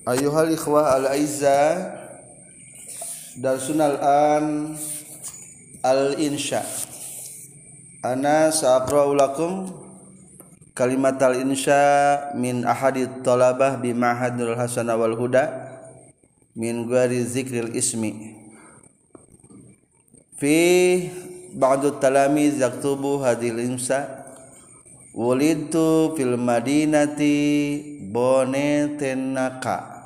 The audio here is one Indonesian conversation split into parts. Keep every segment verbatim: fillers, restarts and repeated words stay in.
Ayuhal ikhwah al-aizza, darsunal an al-insya. Ana sa'aqra'u lakum kalimat al-insya min ahadit talabah bi ma'hadul hasanah wal huda min ghairi zikril ismi. Fi ba'du talamiz yaktubu hadil insya. Wulidtu fil madinati Bonetenaka,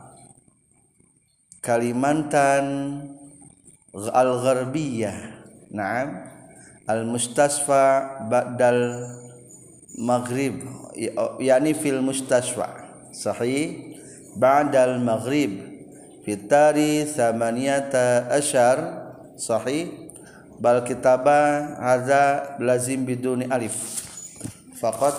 Kalimantan al-Gharbiyah. Naam, al-mustasfa ba'dal maghrib, yani fil mustasfa. Sahih, ba'dal maghrib fitari thamaniyata asyar. Sahih, bal kitaba hadza lazim biduni alif faqat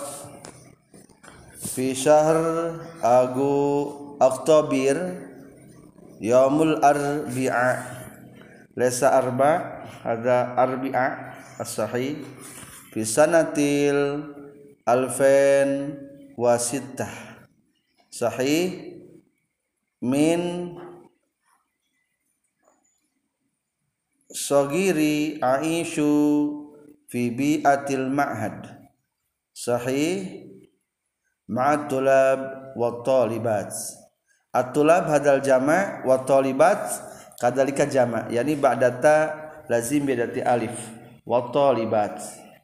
fi syahr agu Oktobir yaumul arbi'a lesa arba hadza arbi'a as-sahih fi sanatil alfen wasittah. Sahih min sogiri aishu fi bi'atil ma'had. Sahih ma'at tulab wa talibat. At-tulab hadal jama' wa talibat kadzalika jama', yani ba'data lazim bidati alif wa talibat.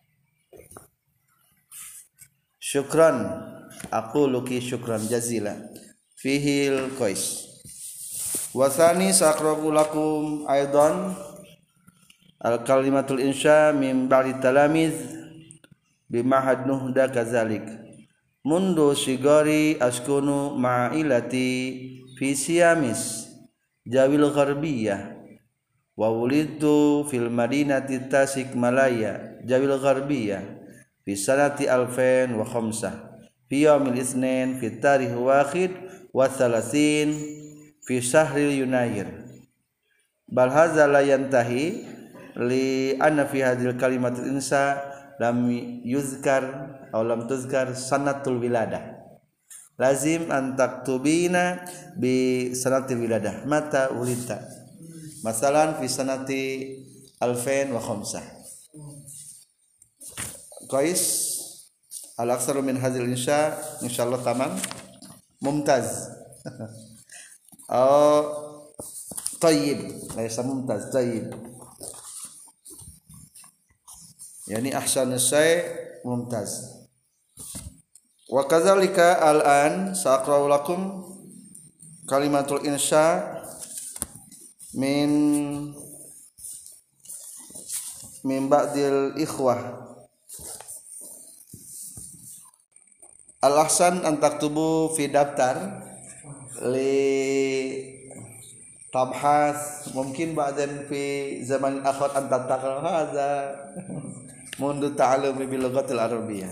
Syukran, aku luki syukran jazila fihil qais. Wa tsani saqra'u lakum aidan al kalimatul insya min ba'di talamiz bimahad nuhda kazalik. Mundu sigari askunu ma'ilati fi siyamis jawil gharbiyah wa wulidtu fil madinati tasik malaya jawil gharbiyah fi sanati alfain wa khamsah fi yaumil itsnain fi tarikh wahid wa thalathin fi syahril yunayir. Bal hadza la yantahi li anna fi hadhil kalimatil insa lam yuzkar aw lam tuzkar sanatul wiladah. Lazim an taktubina bi sanatil wiladah mata ulita, masalan fi sanati alfain wa khamsah. Qais al aktsaru min hadzal insya insyaallah tamam mumtaz. Oh tayyib, laisa mumtaz, tayyib, yani ahsanus syai' mumtaz. Wa kadzalika al-an sa'aqra'u lakum kalimatul insya min min ba'dil ikhwah. Al-ahsan an taktubu fi daftar li tabhas mungkin ba'dan fi zaman akhir an tatakal hadza mundu ta'allumi bil lughatil arabiyyah.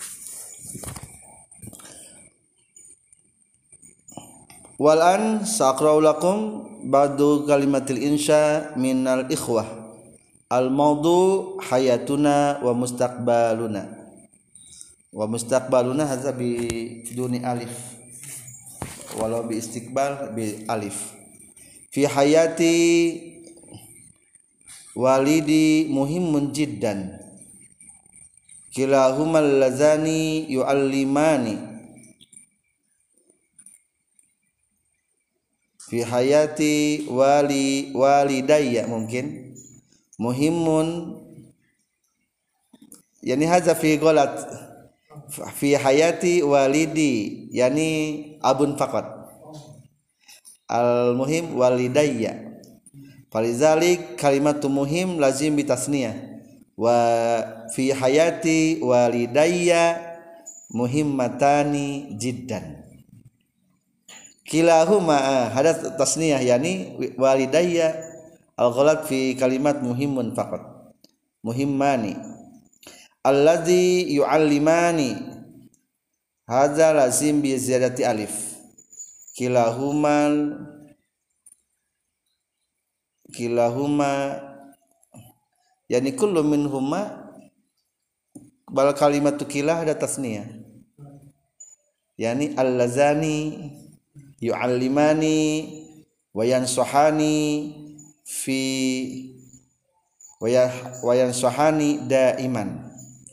Wal an saqra'u lakum ba'du kalimatil insya minal ikhwah al mawdu hayatuna wa mustaqbaluna. Wa mustaqbaluna hadza bi duni alif walau bi istiqbal bi alif. Fi hayati walidi muhimmun jiddan kilahumal lazani yu'allimani. Fi hayati wali walidayya mungkin muhimmun, yani hadza fi ghalat fi hayati walidi, yani abun faqat, al muhim walidayya. Falizalik kalimatu muhim lazim bitasniyah wa fi hayati walidayya muhimmatani jiddan. Kilahuma hadat tasniyah, yani walidayya al-ghalat fi kalimat muhimun faqat, muhimmani. Alladzi yu'allimani hadza lazim bi ziyadati alif. Kilahumal kilahuma, yani kullu minhuma, bal kalimatu kilah ada tasniyah, yani al-lazani yu'allimani wa yansuhani fi wa yansuhani daiman.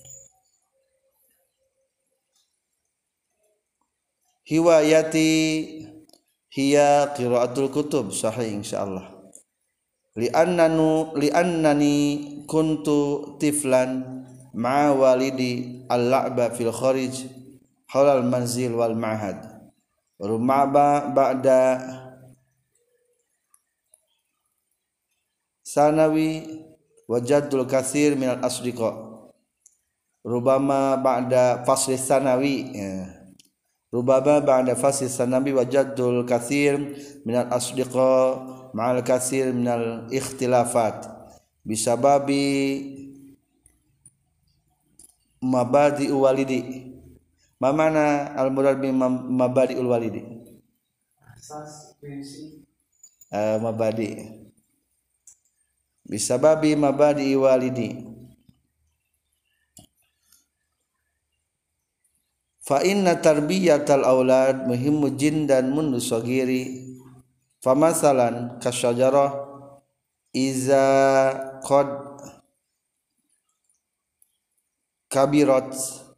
Hiwayati hiya qiraatul kutub sahih insyaallah. Li'annanu li'annani kuntu tiflan ma'a walidi al-la'ba fil kharij hawla al-manzil wal ma'had. Rumaba ba'da sanawi wajadul katsir minal asdiqa. Rubama ba'da fasli sanawi ya. Rubaba ba'da fasli sanawi wajadul katsir minal asdiqa ma'al katsir minal ikhtilafat bisababi mabadi walidi. Ma mana al murad bi mabadi ul walidi? Asas prinsip uh, mabadi bisababi mabadi walidi. Fa inna tarbiyatal aulad muhimmu jindan mundu sagiri. Fa masalan kasyajarah iza qad kabirat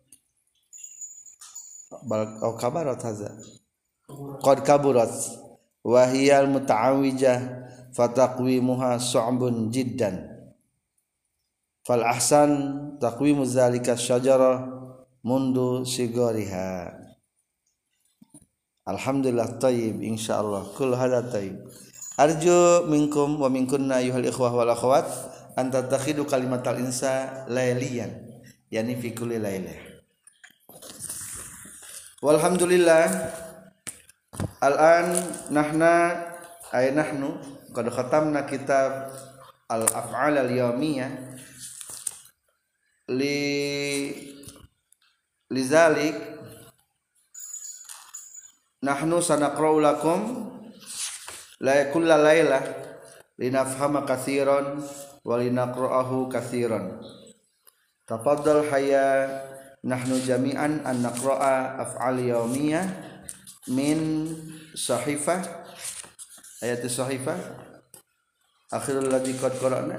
bal au kabarat haza qad kaburat wa hiya al muta'awwijah fataqwimuha su'bun jiddan. Fal ahsan taqwimu zalika syajarah mundu sigoriha. Alhamdulillah tayyib insyaallah kul hada tayyib. Arju minkum wa minkunna ayyuhal ikhwah wal akhwat an tattakhidu kalimatal insa layliyan yani fi kulli lailah. Walhamdulillah al-an nahna ay nahnu qad khatamna kitab al-af'al al-yawmiyah li lizalik nahnu sanaqra'u lakum la kulla lailah linafhama katsiran wa linaqra'ahu katsiran. Tafaddal hayya nahnu jami'an an naqra'a af'al yawmiyah min sahifah ayat sahifah akhirul ladzi qad qara'na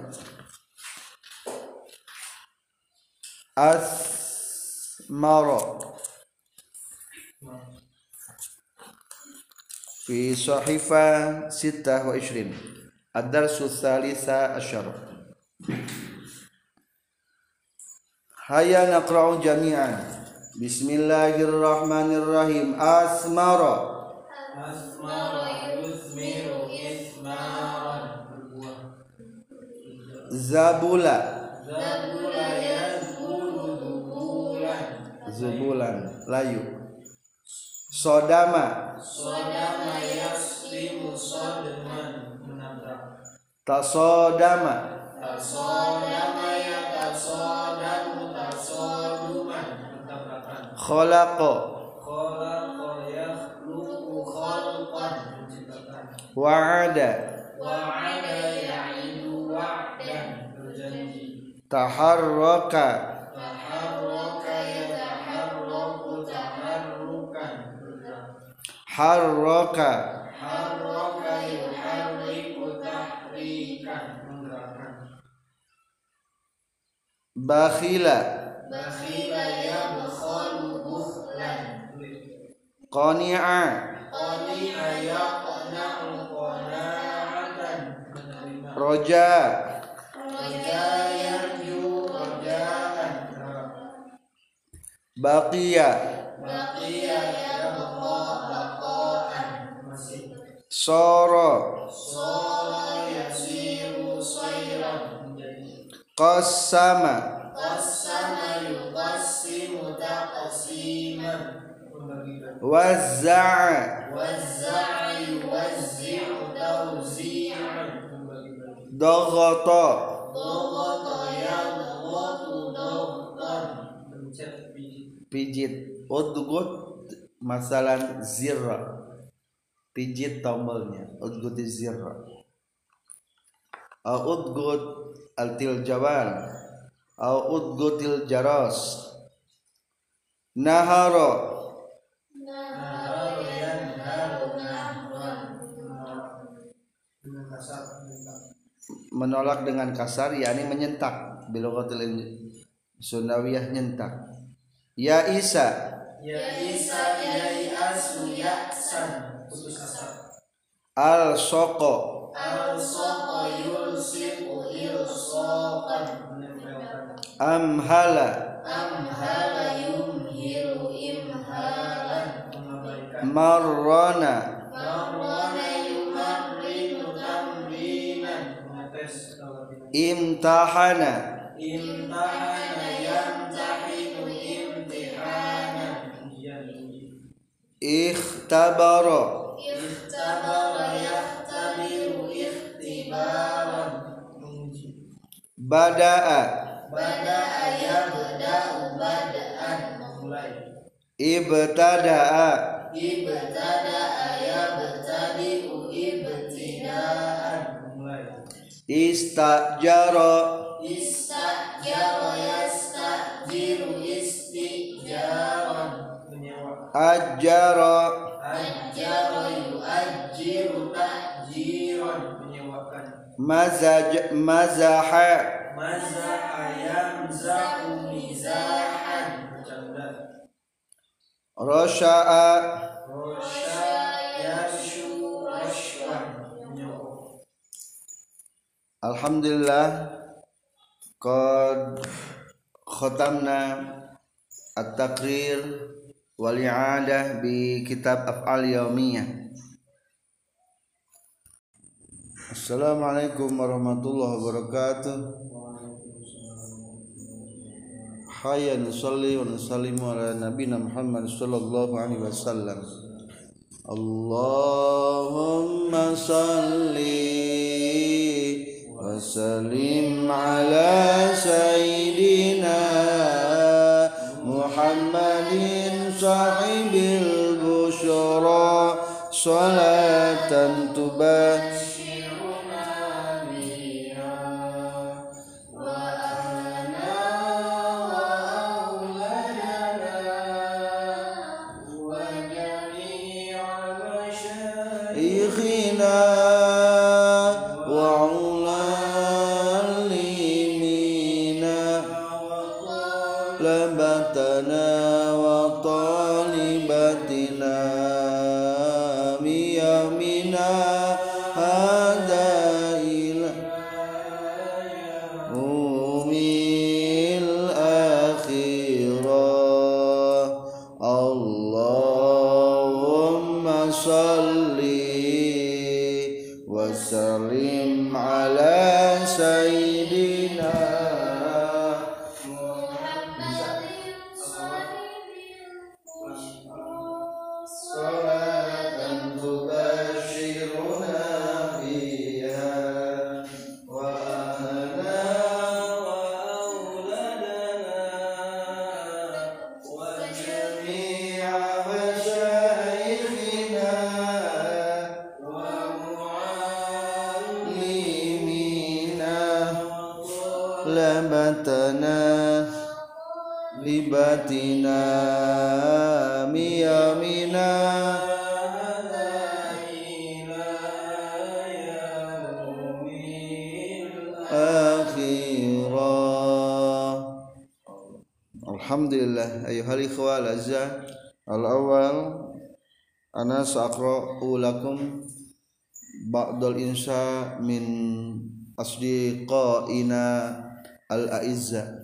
asmara fi sahifah sittah wa ishrin ad-darsu tsalisa asyar. Hayya naqra'u jami'an. Bismillahirrahmanirrahim. Asmara asmara yusmiru ismaran. Zabula zabula yazbulu zubulan zubulan layu. Sodama sodama yaslimu sodman menabrak. Tasodama tasodama yatasodamu tasoduman bertabrakan. Khalaqa khalaqa yakhluqu khalqan menciptakan. Wa'ada wa'ada ya'idu wa'dan berjanji. Taharraka taharraka yataharraku taharrukan bergerak. Harraka harraka yuharriku tahrikan menggerakkan. Bakhila bakhila yabkhalu bukhlan. Qani'a qani'a yaqna'u qana'atan menerima. Roja roja yarju rojaan. Baqiya baqiya yabqa baqaan masih. Sara sara yasiru sayran menjadi. Qassama qassama yuqassimu taqsiman membagikan. Wazza'a wazza'a yuwazzi'u tawzi'an membagikan. Daghata daghata yadghatu daghtan mencet pijit pijit. Udgut masalan zirra pijit tombolnya udgut zirra. Udgut altil jawal au udgutil jaras. Nahara nahara yanharu menolak dengan kasar yakni menyentak bilughatil Sundawiyah nyentak. Ya Isa Ya Isa yai asu ya'san putus asa. Al Soko Al soko yulsiku ilsoqan Amhala amhala yumhilu imhalan Marrona marwana yumarrinu tamrinan Imtahana imtahana yamtahinu imtihanan Ikhtabara ikhtabara yahtabiru ikhtibaran Bada'a bada'a yabda'u bada'an mulai Ibtada'a ibtada'a yabtadi'u ibtida'an mulai Istajara istajara yastajiru istijaran Ajjara ajjara yu'ajjiru ta'jiran menyewakan Mazaj Mazaha mazaha yamzahu mizahan bercanda Rosha'a rosya yashu rashwan menyewa. Alhamdulillah qad khatamna at-taqrir wal i'adah bi kitab af'al yaumiyah. Assalamualaikum warahmatullahi wabarakatuh. Hayya nusalli wa nusallimu ala nabiyina Muhammad sallallahu alaihi wasallam. Allahumma salli wa sallim ala sayyidina Muhammadin sahibil busyara salatan tubashiruna biha wa ahlana wa auladana wa jami'a masyayikhina wa ulamina labatana wa talibatina miyamina hada ila umil akhirah. Allahumma salli wa sallim ala sayyidina salatan tubashiruna biha wa ahlana wa auladana wa jami'a masyayikhina wa muallimina labatana libatina miyamina akhirah. Alhamdulillah ayyuhal ikhwah al-azza al-awwal ana sa'aqra'u lakum ba'dal insya min asdiqaina al-a'izza.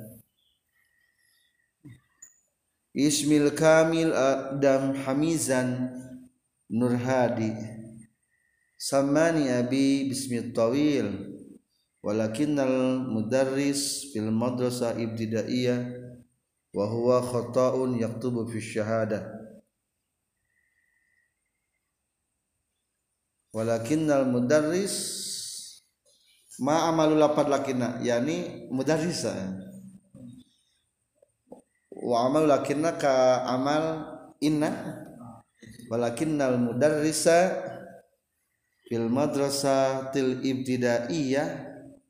Ismil kamil Adam Hamizan Nurhadi Samani abi bismit tawil walakinnal mudarris fil madrasah ibtidaiyah wa huwa khata'un yaktubu fi syahadah walakinnal mudarris ma amalu lapad lakinna yani mudarrisa wa amal lakinna ka amal inna walakinnal mudarrisa fil madrasatil ibtidaiyah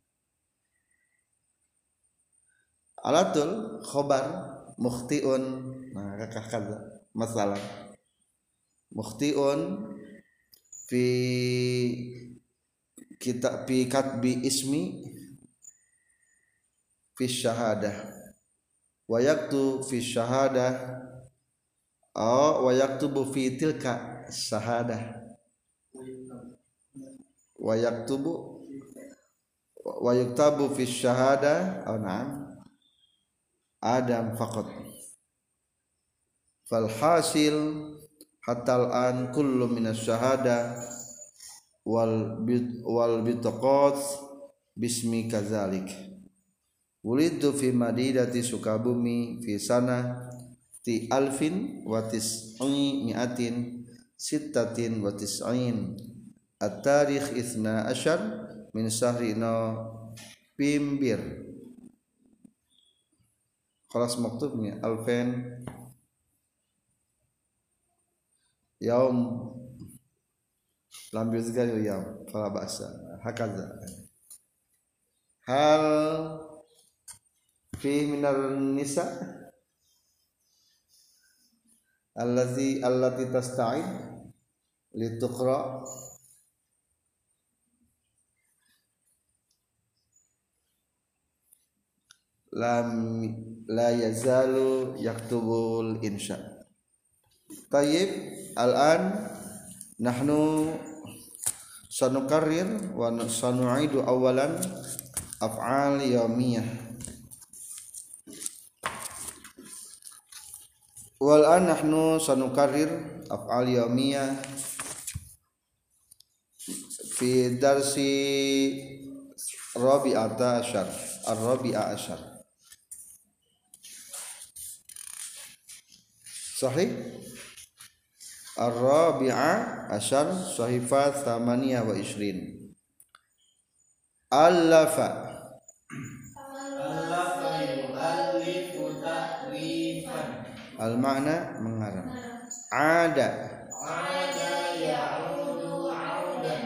alatul khobar mukhtiun nah kakak kaza masalah mukhtiun fi kita fi katbi ismi fi syahadah wa yaktu fi syahadah aw wa yaktubu fi tilka syahadah wa yaktubu wa yuktabu fi syahadah aw na'am adam faqat fal hasil hatta al-an kullu min asy-syahadah wal bit wal bitaqat bismi kadzalik wulidu fi madinati Sukabumi fi sana ti alfin wa tis'i mi'atin sittatin wa tis'in at-tarikh itsna asyar min syahri November khalas maktubnya alfen yaum lam yuzkar yaum fala ba'sa hakaza hal fi minar nisa allazi allati tasta'id lituqra lam la yazalu yaktubul insya. Tayyib al-an nahnu sanukarrir wa sanu'idu awalan af'al yawmiyah wal an nahnu sanukarrir af'al yawmiyah fi darsi rabi'ata asyar ar-rabi'a asyar sahih ar-rabi'a asyar sahifat thamaniyah wa ishrin allafa allafa yu'allifu ta'rifan al-ma'na mengarang ada ada ya'udu 'audan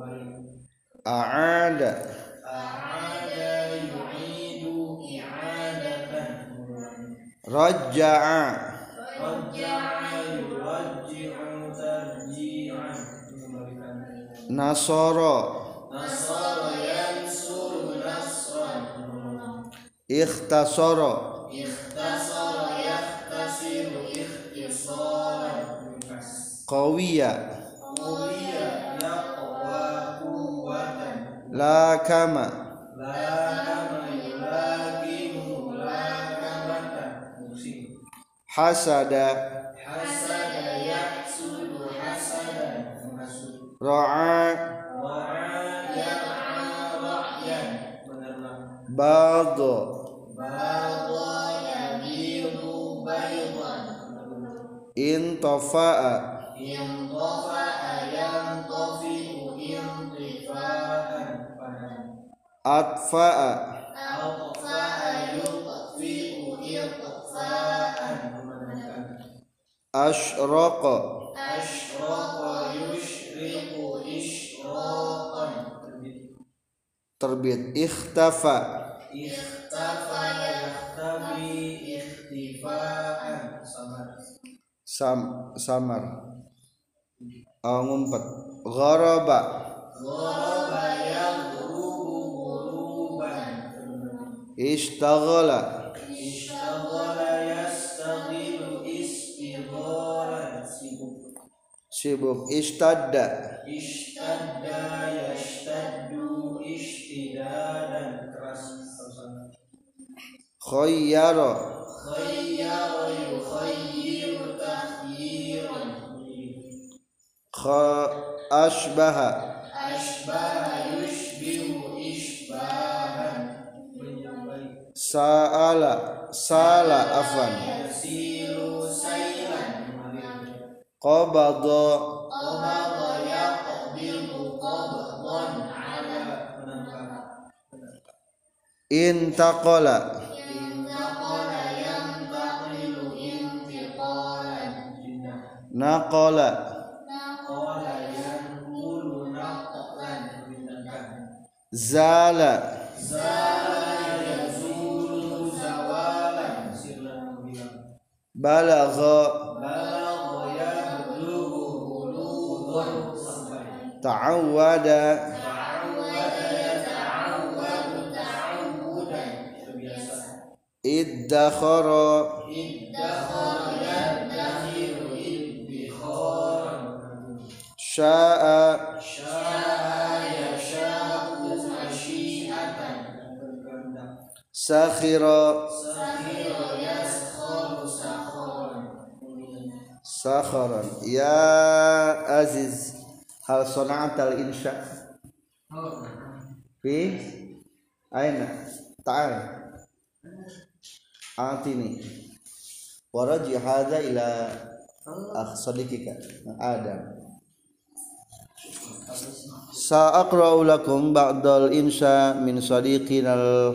a'ada a'ada yu'idu i'adatan rajja'a rajja'a yurajji'u tarji'an nasara nasara yansuru nasran ikhtasara ikhtasara qawiya qawiya yaqwa quwwatan la kama la kama yulaqimu la kamatan hasada hasada yahsudu hasadan ra'a ra'a yar'a ra'yan ba'dha ba'dha yabidu baydan intafa'a intafa'a yantafi'u intifa'an atfa'a atfa'a yutfi'u itfa'an asyraqa asyraqa yushriqu isyraqan terbit ikhtafa ikhtafa yakhtafi ikhtifa'an samar sam samar aw ngumpet gharaba gharaba yaghrubu ghuruban ishtaghala ishtaghala yastaghilu istighalan sibuk sibuk istadda istadda yashtaddu ishtidadan keras khayyara khayyara yukhayyiru takhyiran kha asbaha asbaha yushbihu ishbahan sa'ala sala afan yasilu sailan qabada qabada yaqbilu qabdan ala intaqala intaqala yantaqilu intiqalan naqala naqala yanqulu naqlan zala zala yazulu zawalan balagha balagha yablughu bulughan ta'awwada ta'awwada iddakhara iddakhara yadakhiru idbikharan syaa syaa yasha'u masyiatan sakhira sakhira yaskharu sakharan sakharan ya aziz hal sana'atal insya fi aina ta'al atini waraji hadha ila akh sadiqika Adam sa'aqra'u lakum ba'dal insya min sadiqinal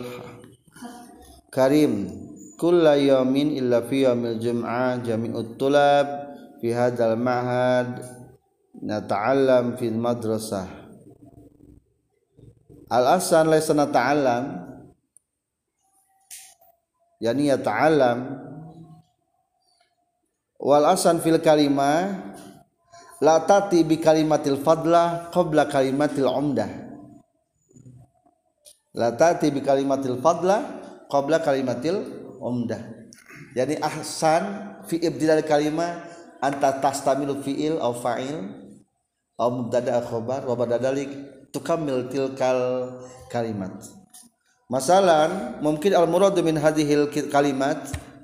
karim kulla yawmin illa fi yawmil jum'ah jami'ut tulab fi hadzal ma'had nata'allam fil madrasah al-asan laysa nata'allam yani yata'allam wal asan fil kalimah la tati bi kalimatil fadlah qabla kalimatil umdah la tati bi kalimatil fadlah qabla kalimatil umdah yani ahsan fi ibtidal kalimah anta tastamilu fi'il aw fa'il aw mubtada khabar wa badadalik tukammil tilkal kalimat masalan mungkin al muradu min hadhil kalimat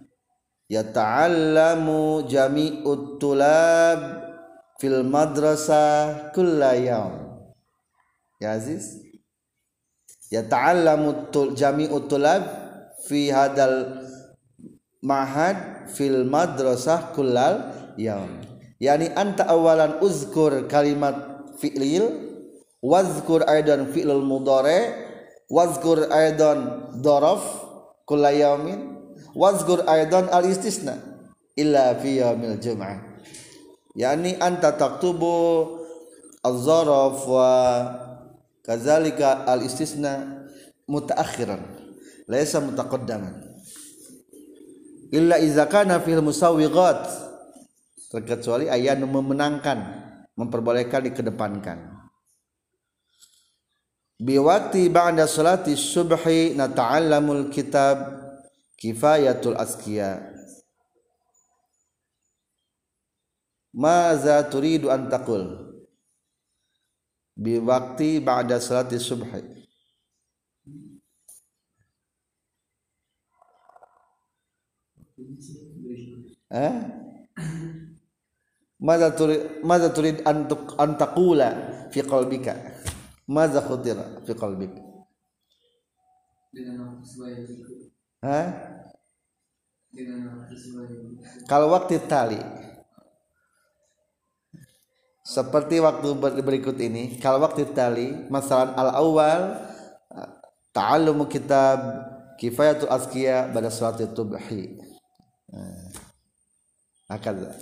yata'allamu jami'ut tulab fil madrasah kulla yawm ya aziz yata'allamu jami'ut tulab fi hadal ma'had fil madrasah kullal yawm yani anta awalan uzkur kalimat fi'lil wazkur aidan fi'lul mudhari wazkur aidan daraf kulla yawmin wazkur aidan al istisna illa fi yaumil jum'ah yani anta taktubu az-zaraf wa kadzalika al istisna mutaakhiran laysa mutaqaddaman illa idza kana fil musawwighat terkecuali ayat memenangkan memperbolehkan dikedepankan biwaqti ba'da salati subhi nata'allamul kitab kifayatul asqiya maza turidu an taqul biwaqti ba'da salati subhi eh maza turid maza turid an taqula fi qalbika maza khutira fi qalbika dengan sesuai itu ha dengan sesuai kalau waktu tali seperti waktu berikut ini kalau waktu tali masalah al-awwal ta'allumu kitab kifayatul azkiya pada salat subhi hakadha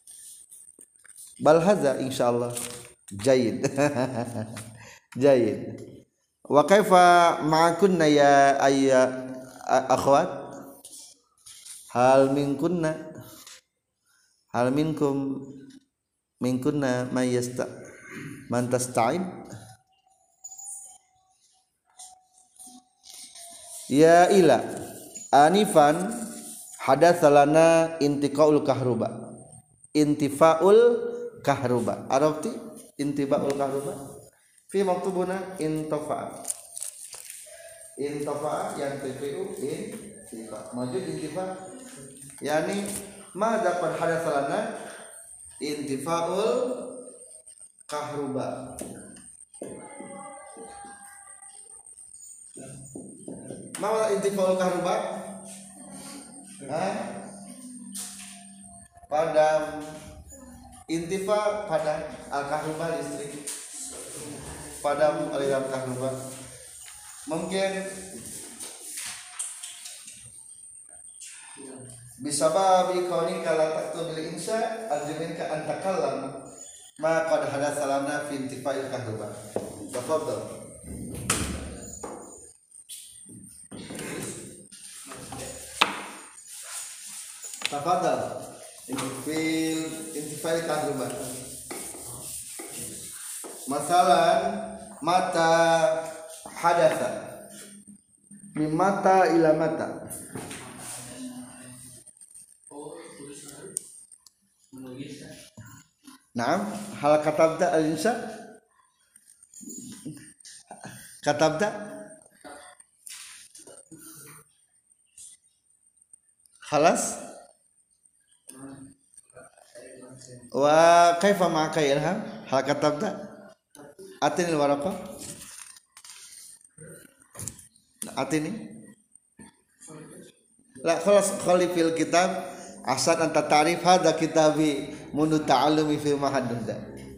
bal hadza insyaallah jayyid jayyid wa kaifa ma'akunna ya ayya akhwat hal minkunna hal minkum minkunna may yasta man tasta'id ya ila anifan hadatsalana intiqaul kahruba intifaul kahruba arafti intibaul kahruba fi maktubuna intafa intafa yang tifu intifa maju intifa yani ma dapat hadatsalana intifaul kahruba ma intifaul kahruba Hah? Padam intifa pada al-kahruba listrik padam aliran kahruba mungkin bisababi kauni kala taktub bil insya aljumin ka antakallam ma qad hadatsalana fi intifa'il kahruba tafadhal tafadhal intifil intifa'il kahruba masalan mata hadatsa min mata ila mata Naam, hal katabda al-insa? Katabda? Khalas? Wa kaifa ma'aka ilham? Hal katabda? Atini al-waraqah? Atini? La khalas khali fil kitab asad anta ta'rif hadha kitabi mundu ta'allumi fi mahadda.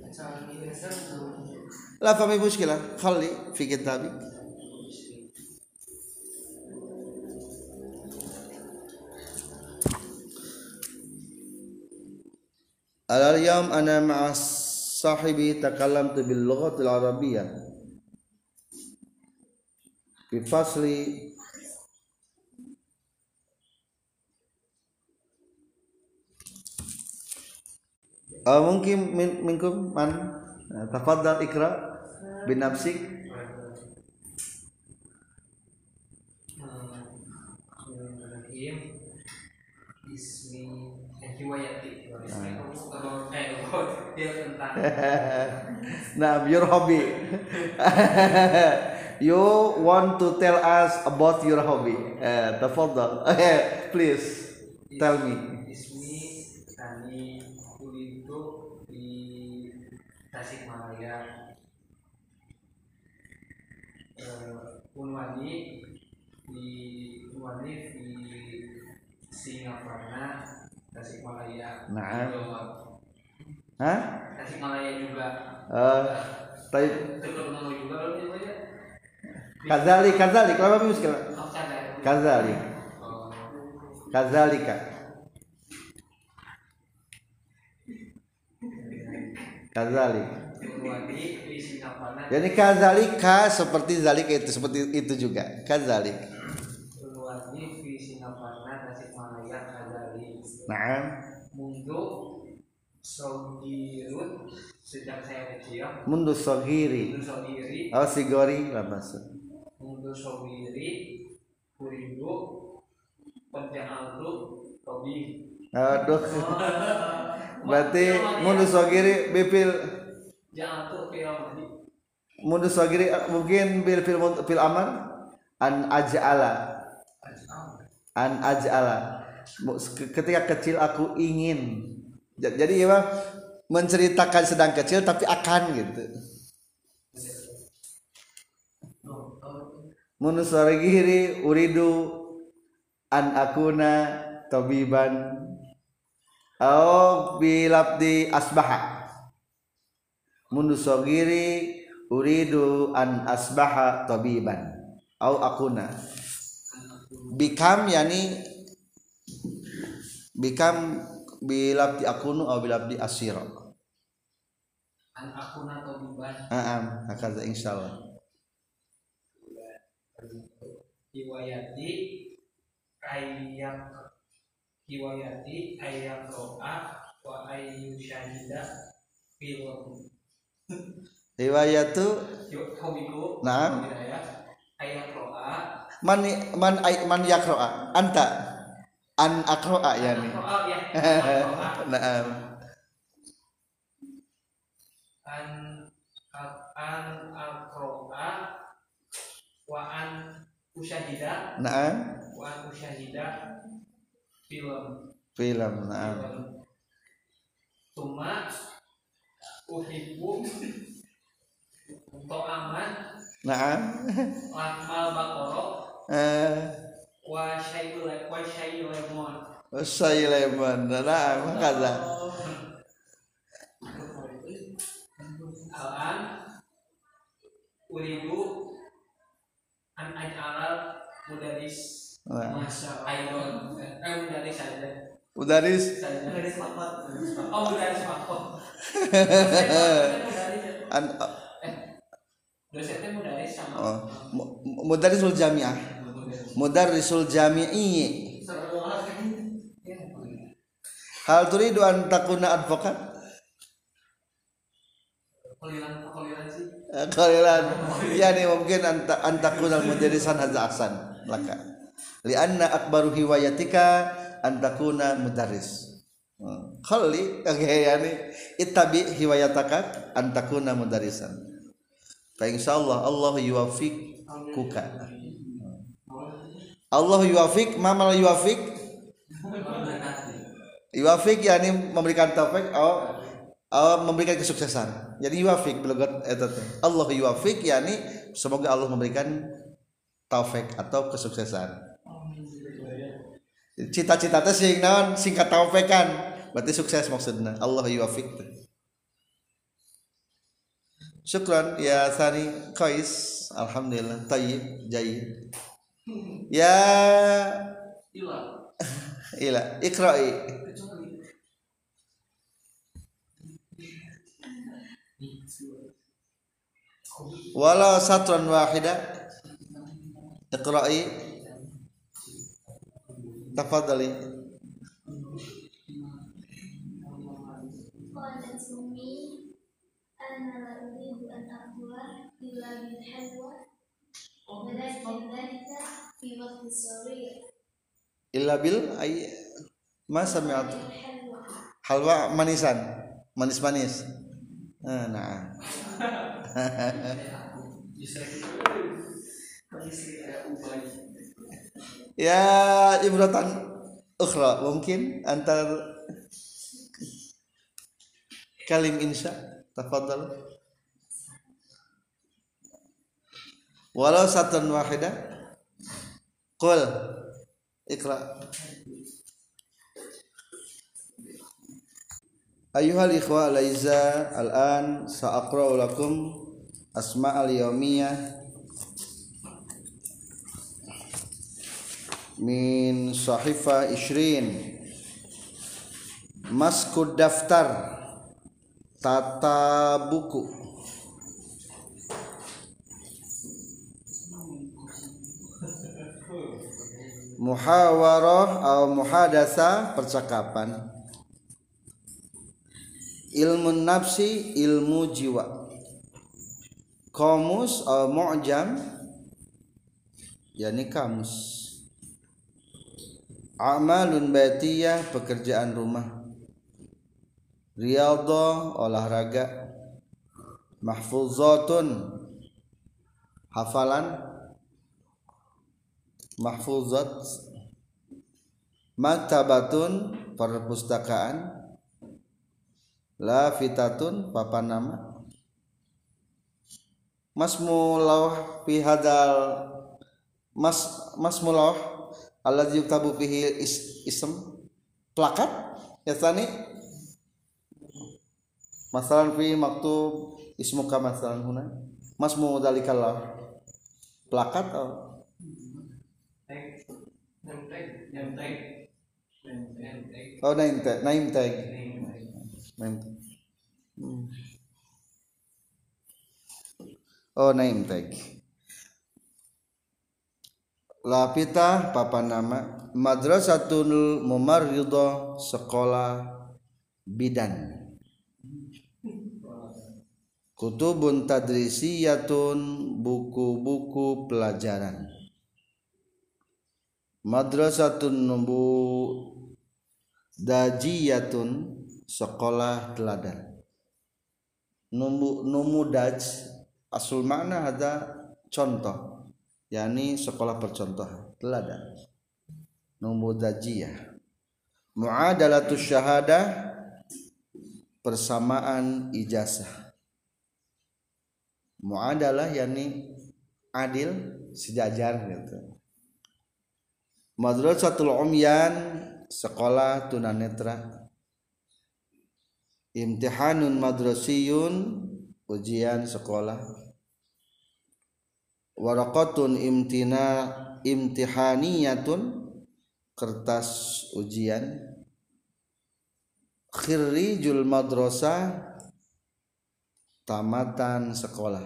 La fa mi mushkilah khali fi kitabi. Al-yawm ana ma'a sahibi takallamtu bil lughatil arabiyyah fi fasli uh, mungkin min, minkum man uh, tafaddal ikra bin nafsik. Ismi hiwayati. Kalau eh dia tentang nah, your hobby. You want to tell us about your hobby. Uh, tafaddal. Please tell me. Ismi kami itu di Tasikmalaya. Uh, Unwani di Unwani di Singapura, Tasikmalaya. Nah. Hah? Tasikmalaya juga. Uh, tapi terkenal juga loh dia. Kazali, kazali, kenapa muskil? Oh, Kazali. Oh. Kazalika. Kazali. Jadi kazalika seperti zalika itu seperti itu juga. Kazalik. Naam. Mundu sogirun sejak saya kecil. Mundu sogiri. Mundu sogiri. Oh sigori lah maksud. Mundu sogiri kuridu penja'altu tobi. Aduh. Berarti mundu sogiri bipil ja'altu fil mundu sogiri mungkin bil fil fil amal an aj'ala. An aj'ala. Ketika kecil aku ingin. Jadi ya menceritakan sedang kecil tapi akan gitu. Munusarigiri uridu an akuna tabiban au bilabdi asbaha. Munusarigiri uridu an asbaha tabiban au akuna. Become yani become bilabdi akunu atau bilabdi asira. An akuna tabiban. Heeh, hakaza insyaallah. Hiwayati ayyak hiwayati ayyak ro'a wa ayyushahida film. Hiwayatu hobiku. Naam. Ayyak ro'a man man man yakro'a anta an akro'a yani. Oh ya. Naam. An an akro'a wa an usyahida. Naam. Wa an usyahida film. Film. Naam. Tuma uhibbu to'aman. Naam. Lakmal bakoro. Eh. Wa syai'ul wa syai'ul lemon. Syai'ul Naam, hakaza. Al-an uridu an aj'alal mudaris masya Allah eh mudaris saja Mudaris mudaris apa oh mudaris apa an eh dosennya mudaris sama oh, mudarrisul jami'ah. Mudarrisul jami'i. Hal turidu an takuna advokat? Kalilan kalilan sih. Kalilan. Yani mungkin anta antakuna mudarrisan hadza ahsan laka. Lianna akbaru hiwayatika an takuna mudarris. Khalli oke yani ittabi hiwayataka antakuna mudarisan fa insyaallah Allah yuwaffiquka Allah yuwaffiq mamal yuwaffiq yuwaffiq yani memberikan taufik atau oh, memberikan kesuksesan jadi yuwaffiq belogat eta teh Allah yuwaffiq yani semoga Allah memberikan taufik atau kesuksesan cita-cita teh sing naon singkat taufik kan berarti sukses maksudnya Allah yuwaffiq. Syukran ya Sani Qais alhamdulillah tayyib jayyid ya ila ila iqra'i walau satran wahida iqra'i tafadhali. قالت أمي أنا لا أريد أن أقوى إلا بالحلوى ولكن ذلك في وقت صغير Illa bil ay ma sami'at الحلوى halwa manisan manis-manis ah, nah ya ibratan ukhra mungkin antar kalim insya tafadhal walau satan wahida qul iqra ayyuhal ikhwa laiza al-an sa'aqra'u lakum asma'al yawmiyah min sahifa ishrin maskud daftar tata buku muhawarah atau muhadasa percakapan ilmu nafsi ilmu jiwa kamus atau mu'jam yakni kamus amalun baitiyah pekerjaan rumah riyadhah olahraga mahfuzatun hafalan mahfuzat maktabatun perpustakaan lafitatun papan nama masmulah fi hadal mas masmulah alladzi yuktabu fihi is, ism plakat ya tani masalan fi maktub ismuka masalan huna masmu dalikal plakat oh name tag oh name tag name tag name oh name tag lapita papan nama madrasatul mumarridah sekolah bidan kutubun tadrisiyatun buku-buku pelajaran madrasatun nubu dajiyatun sekolah teladan numu numudaj asul makna ada contoh yakni sekolah percontohan teladan numudajiyah muadalatus syahadah persamaan ijazah muadalah yakni adil sejajar gitu madrasatul umyan sekolah tunanetra imtihanun madrasiyun ujian sekolah waraqatun imtina imtihaniyatun kertas ujian khirrijul madrasah tamatan sekolah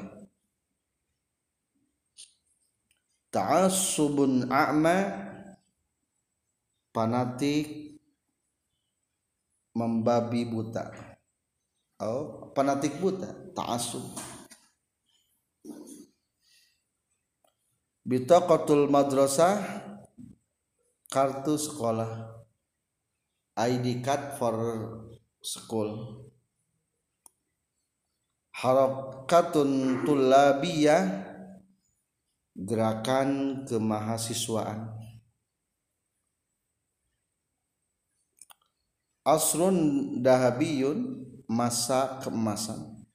ta'assubun a'ma fanatik membabi buta oh fanatik buta ta'assub bitaqatul madrasah kartu sekolah I D card for school. Harakatun tullabiyah, gerakan kemahasiswaan. Asrun dahabiyun, masa keemasan.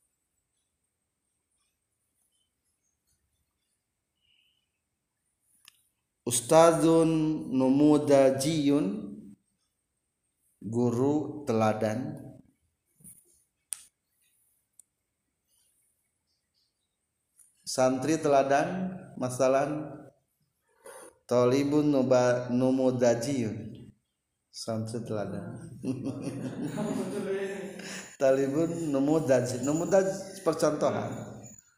Ustadzun numudajiyun, guru teladan. Santri teladan, masalan talibun numudajiyun, santri teladan. Talibun numudaj, numudaj percontohan.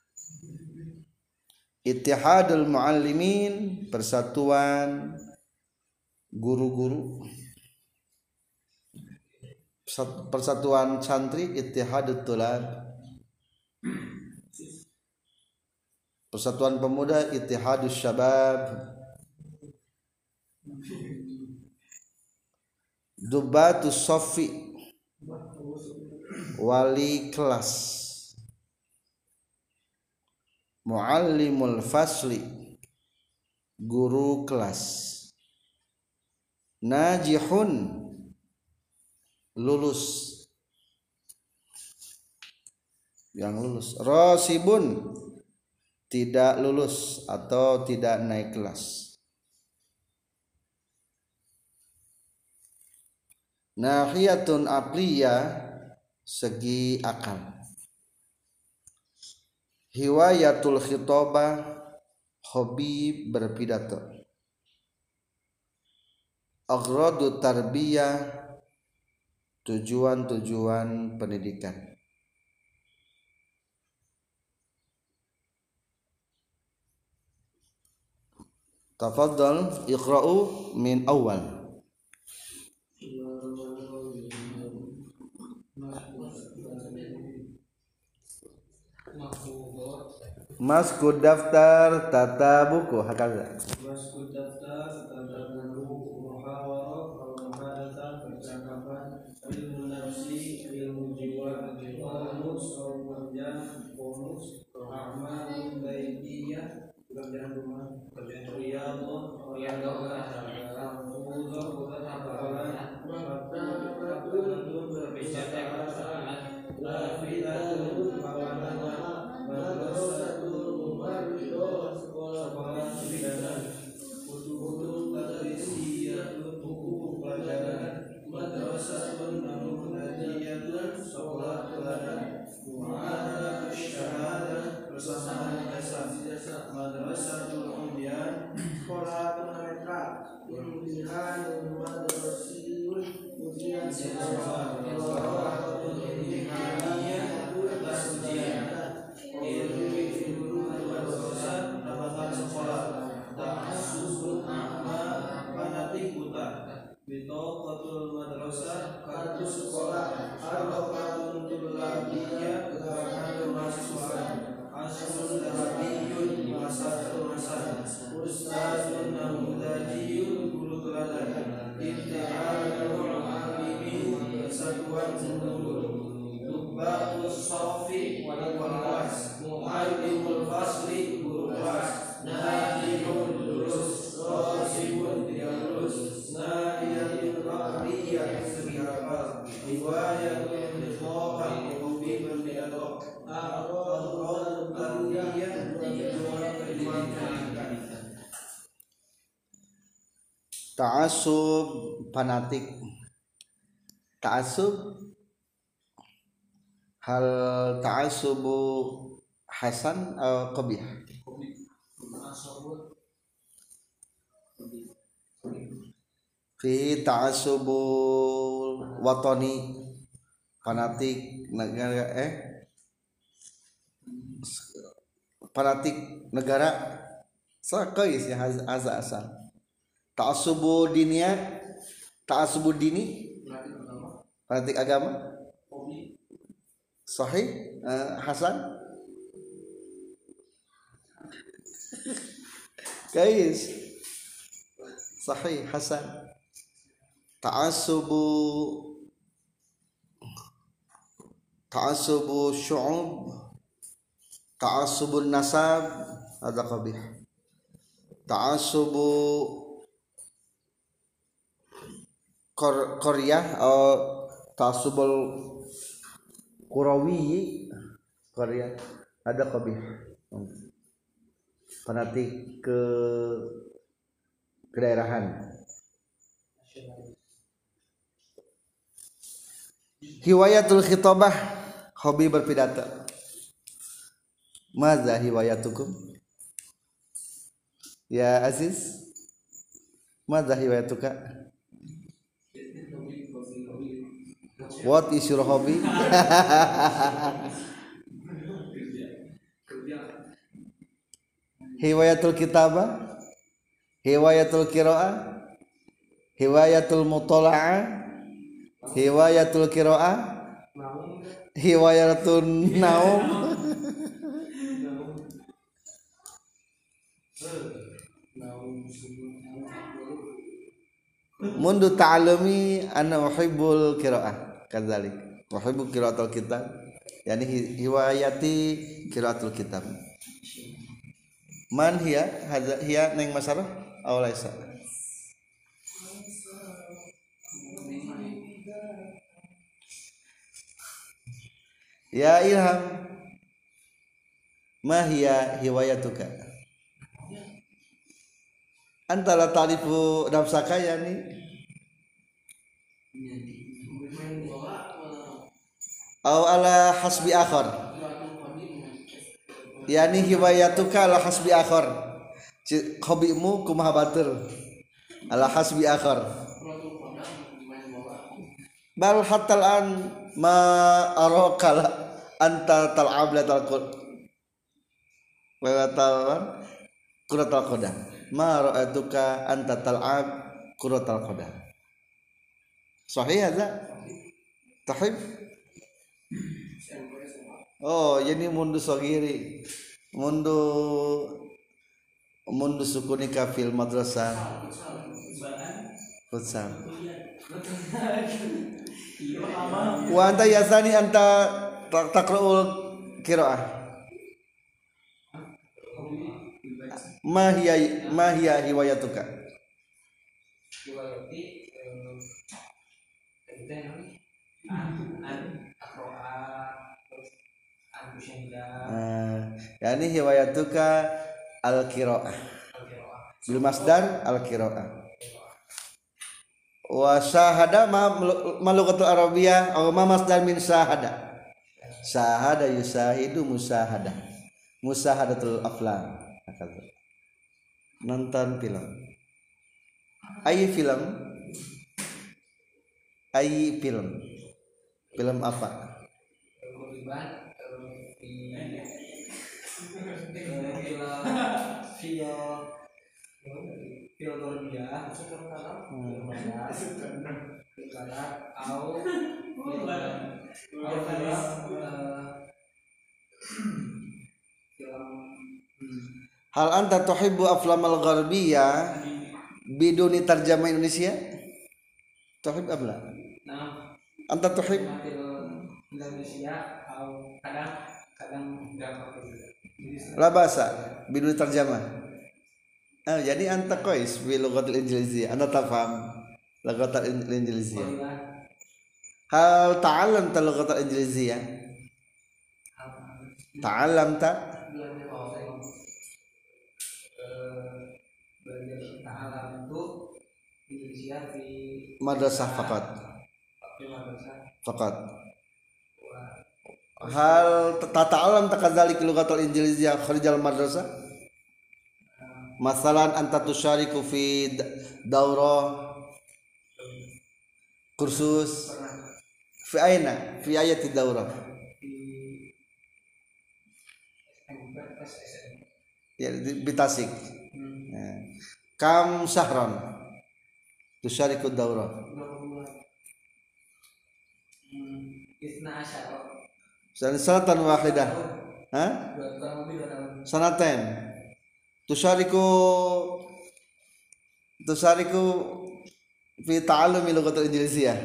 Ittihadul muallimin, persatuan guru-guru. Persatuan santri ittihadut tulab. Persatuan pemuda ittihadus syabab. Dubatus sofi, wali kelas. Muallimul fasli, guru kelas. Najihun, lulus, yang lulus. Rasibun, tidak lulus atau tidak naik kelas. Nahiyatun aqliyah, segi akal. Hiwayatul khitobah, hobi berpidato. Aghradu tarbiyah, tujuan-tujuan pendidikan. Tafadhal iqra'u min awal. Maskud daftar, tata buku, hakaza. Maskud daftar, tata buku, muhawarah, muhadatsah, percakapan, ilmu nafsi, ilmu jiwa, bonus, pekerjaan, bonus, amal baitiyah, pekerjaan rumah, pekerjaan riyadhah, riyadhah, hafuzah, hafalan, maktabatun, perpustakaan, lafidatun, kawanan, madrasatul mubarridah, sekolah bidanan, kutubul tadrisiyatun, buku pelajaran, madrasatun namunajiyatun, sekolah teladan, mu'ahadah syahadah, persamaan jasa, madrasatul umyan, sekolah tunanetra, imtihanul madrasiyun, ujian siswa, sekolah imtihaniyah, atas ujian. Ilmu madrasah, tambahan sekolah. Ta'assubun a'ma, fanatik buta. Bitoqatul madrasah, kartu sekolah. Arbaqatun tullabiyah, gerakan mahasiswaan. Asrun dahabiyun, masa keemasan. Ustadzun namudajiyun, guru teladan. Ittihadul muallimin, persatuan guru. Dubatus sofi, wali kelas. Muallimul fasli, guru kelas. Najihun, lulus. Rasibun, tidak lulus. Nadiyatul aqliyah, segi akal. Riwayatul khitobah, hobi berpidato. Aqradu tarbiyah, tujuan pendidikan. Ta'assub, fanatik. Ta'assub, hal ta'assubu hasan atau qabih? Fi ta'assubul watani, fanatik negara eh fanatik negara sakais ya azza asal. Ta'assubu diniyah, ta'assubu dini, fanatik agama. Sahih, uh, hasan. Guys, sahih, hasan. ta'assubu ta'assubu syu'ub, ta'assubun nasab ada qabih. Ta'assubu Kor Korea atau ta'assubul Qurawi Korea ada qabih. Fanatik ke kedaerahan. Hiwayatul khitabah, hobi berpidato. Madza hiwayatukum? Ya Aziz, madza hiwayatuka? What is your hobby? Hiwayatul kitabah, hiwayatul qiraah, hiwayatul mutalaah, hiwayatul qiraah, hiwayatul naum. Mundu ta'alumi ana uhibbul qiraah kadzalik. Uhibbu qiraatul kitab. Yani hiwayati qiraatul kitab. Man hiya hadza hiya neng masarah aw laisa? Ya Ilham, ma hiya hiwayatuka? Anta la ta'rifu nafsaka yani aw ala hasbi akhar, yani hiwayatuka ala hasbi akhar, hobimu kumaha batur ala hasbi akhar, bal hatta an ma araka anta tal'ab la talqud wa tal'an quratal qadam, ma ra'atuka anta tal'ab quratal qadam. Sahih hadza? Tahib? Oh, ini mundu sogiri, mundu mundu sukunika fil madrasah futsal. Wa anta yasani anta taqra'ul qiraah. Ma hiya ma hiya hiwayatuka? Hiwayati Uh, yani hiwayatuka al-qiraah bil masdar al-qiraah wa syahada ma malugatul arabiyah aw ma masdar min syahada syahada yusahidu musahada musahadatul aflam nonton film ayi film ayi film film apa? Hal anta tuhibbu aflamal gharbiyah biduni tarjamah Indonesia? Tuhib abla? Anta tuhib Indonesia atau kadang kadang enggak pakai la bahasa biduni tarjamah. Ah, jadi anta kois bi lughatil injiliziyah, anta tafham lughatil injiliziyah. Hal ta'allamta lughatil injiliziyah? Ta'allamta? Ta'allam itu Indonesia di madrasah faqat. Faqat. Hal tata'allam takadzalik lughatul injiliziyah kharijal madrasah? Masalan anta tusyariku fi daurah kursus fi aina fi ayati daurah ya di Tasik. Kam syahran tusyariku daurah? Sanatan wahidah. Hah? Sanaten. Tusyariku Tusyariku fi ta'allumi lughatul injiliziyah.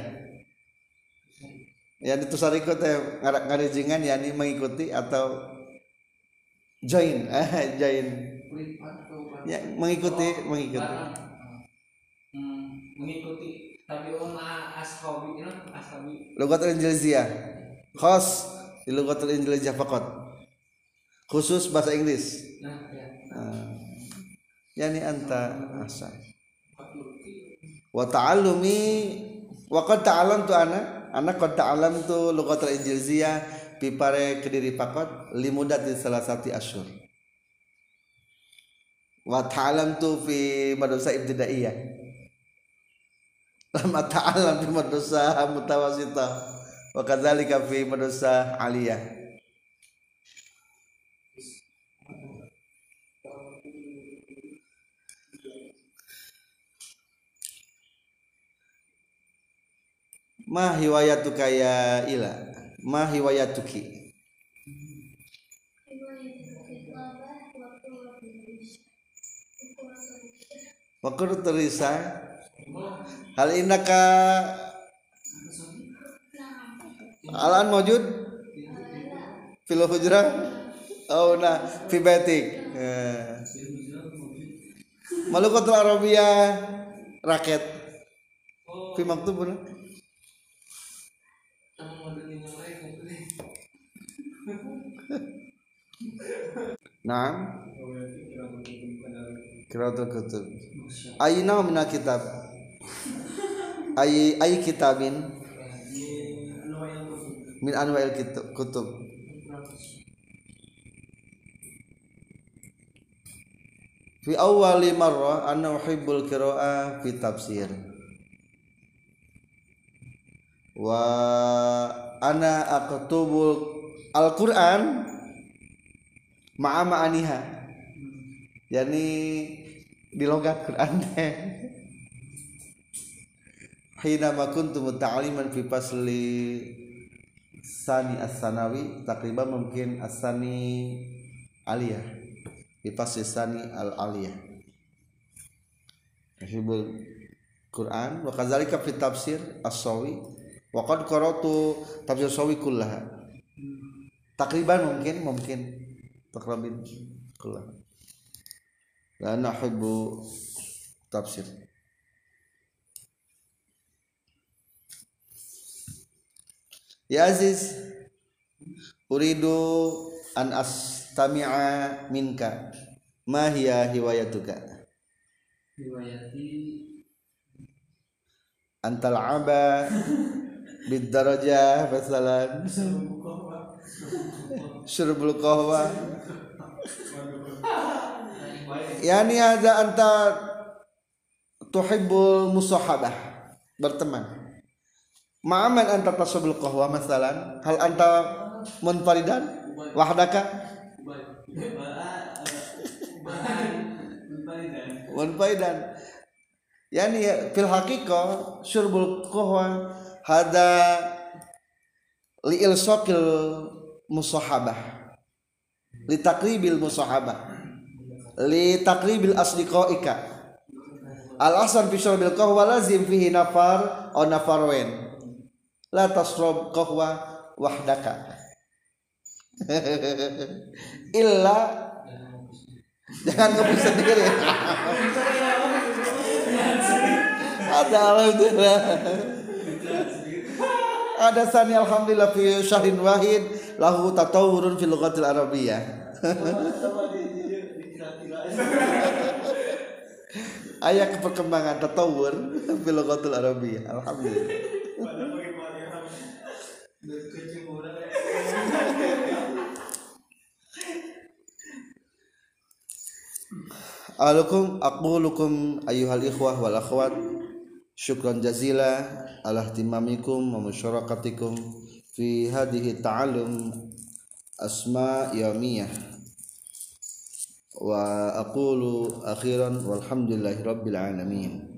Ya itu sariko teh ngarijingan yakni mengikuti atau join eh join ya mengikuti mengikuti hmm, mengikuti tabi'un ashabi ini ashabi lughatul injiliziyah khas di lughatul injiliziyah faqat khusus bahasa Inggris nah ya uh, yakni anta asal wa ta'allumi wa qad ta'alamtu ana ana qad ta'alamtu lughatul injiliziyah pipare kediri pakot limudati salah satu asyur wa ta'alamtu fi madrasah ibtidaiyah lama ta'alam fi madrasah mutawassithah wa kadzalika fi madrasah aliyah ma hiwayatuka ya ila ma hiwayatuki waktu terisa hal innaka alan mawjud fil hujrah oh nah fi baitik Malukatul Arabiyah raket fi maktubun Naam Qiraatul kutub Ayna min kitab Ay ay kitabin min anwa'il kutub Fi awwali marrah anna uhibbul qiraa'ah fi tafsir wa ana aqtubul Al-Qur'an ma'a ma'aniha yakni di logat Quran teh hina ma kuntu muta'alliman fi fasli sani as-sanawi takriban mungkin as-sani aliyah fi fasli sani al-aliyah hibul Quran wa kadzalika fi tafsir as-sawi wa qad qara'tu tafsir sawi kullaha takriban mungkin mungkin takrabin kullah la nahibbu tafsir ya aziz uridu an astami'a minka ma hiya hiwayatuka riwayati antal aba bid darajah masalan syurbul qahwa yani ada anta tuhibbul musahabah berteman ma'aman anta tasabul qahwa masalan hal anta munfaridan wahdaka munfaridan yani fil haqiqah syurbul qahwa hada li ilsaqil musahabah li taqribil musahabah li taqribil asdiqaika al ahsan fi syurbil qahwa lazim fihi nafar aw nafarwain la tasrab qahwa wahdaka illa jangan ngopi sendiri ada alhamdulillah ada sani alhamdulillah fi syahrin wahid lahu tatawurun fil lughatil arabiyyah ayat perkembangan tatawur fil lughatil arabiyyah alhamdulillah Alukum aqulukum ayyuhal ikhwah wal akhwat syukran jazila ala ihtimamikum wa musyarakatikum fi hadhihi ta'allum asma yawmiyah wa aqulu akhiran walhamdulillahi rabbil alamin.